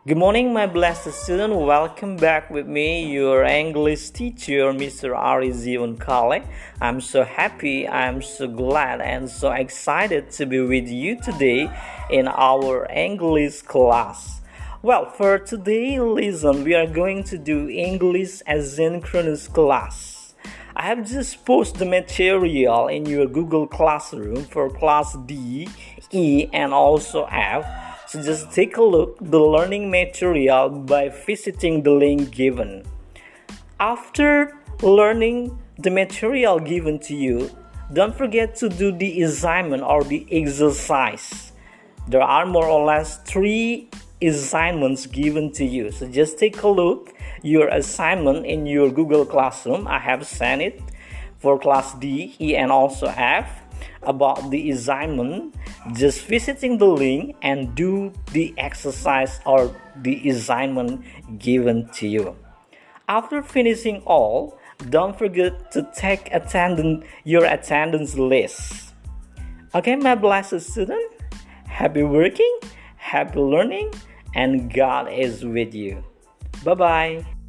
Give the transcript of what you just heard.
Good morning, my blessed student. Welcome back with me, your English teacher, Mr. Arizion Kale. I'm so happy, I'm so glad, and so excited to be with you today in our English class. Well, for today, listen, we are going to do English asynchronous class. I have just posted the material in your Google Classroom for class D, E, and also F. So just take a look the learning material by visiting the link given. After learning the material given to you, don't forget to do the assignment or the exercise. There are more or less 3 assignments given to you. So just take a look your assignment in your Google Classroom. I have sent it for class D, E, and also F. About the assignment, just visiting the link and do the exercise or the assignment given to you. After finishing all, don't forget to take your attendance list. Okay, my blessed student, happy working, happy learning, and God is with you. Bye-bye.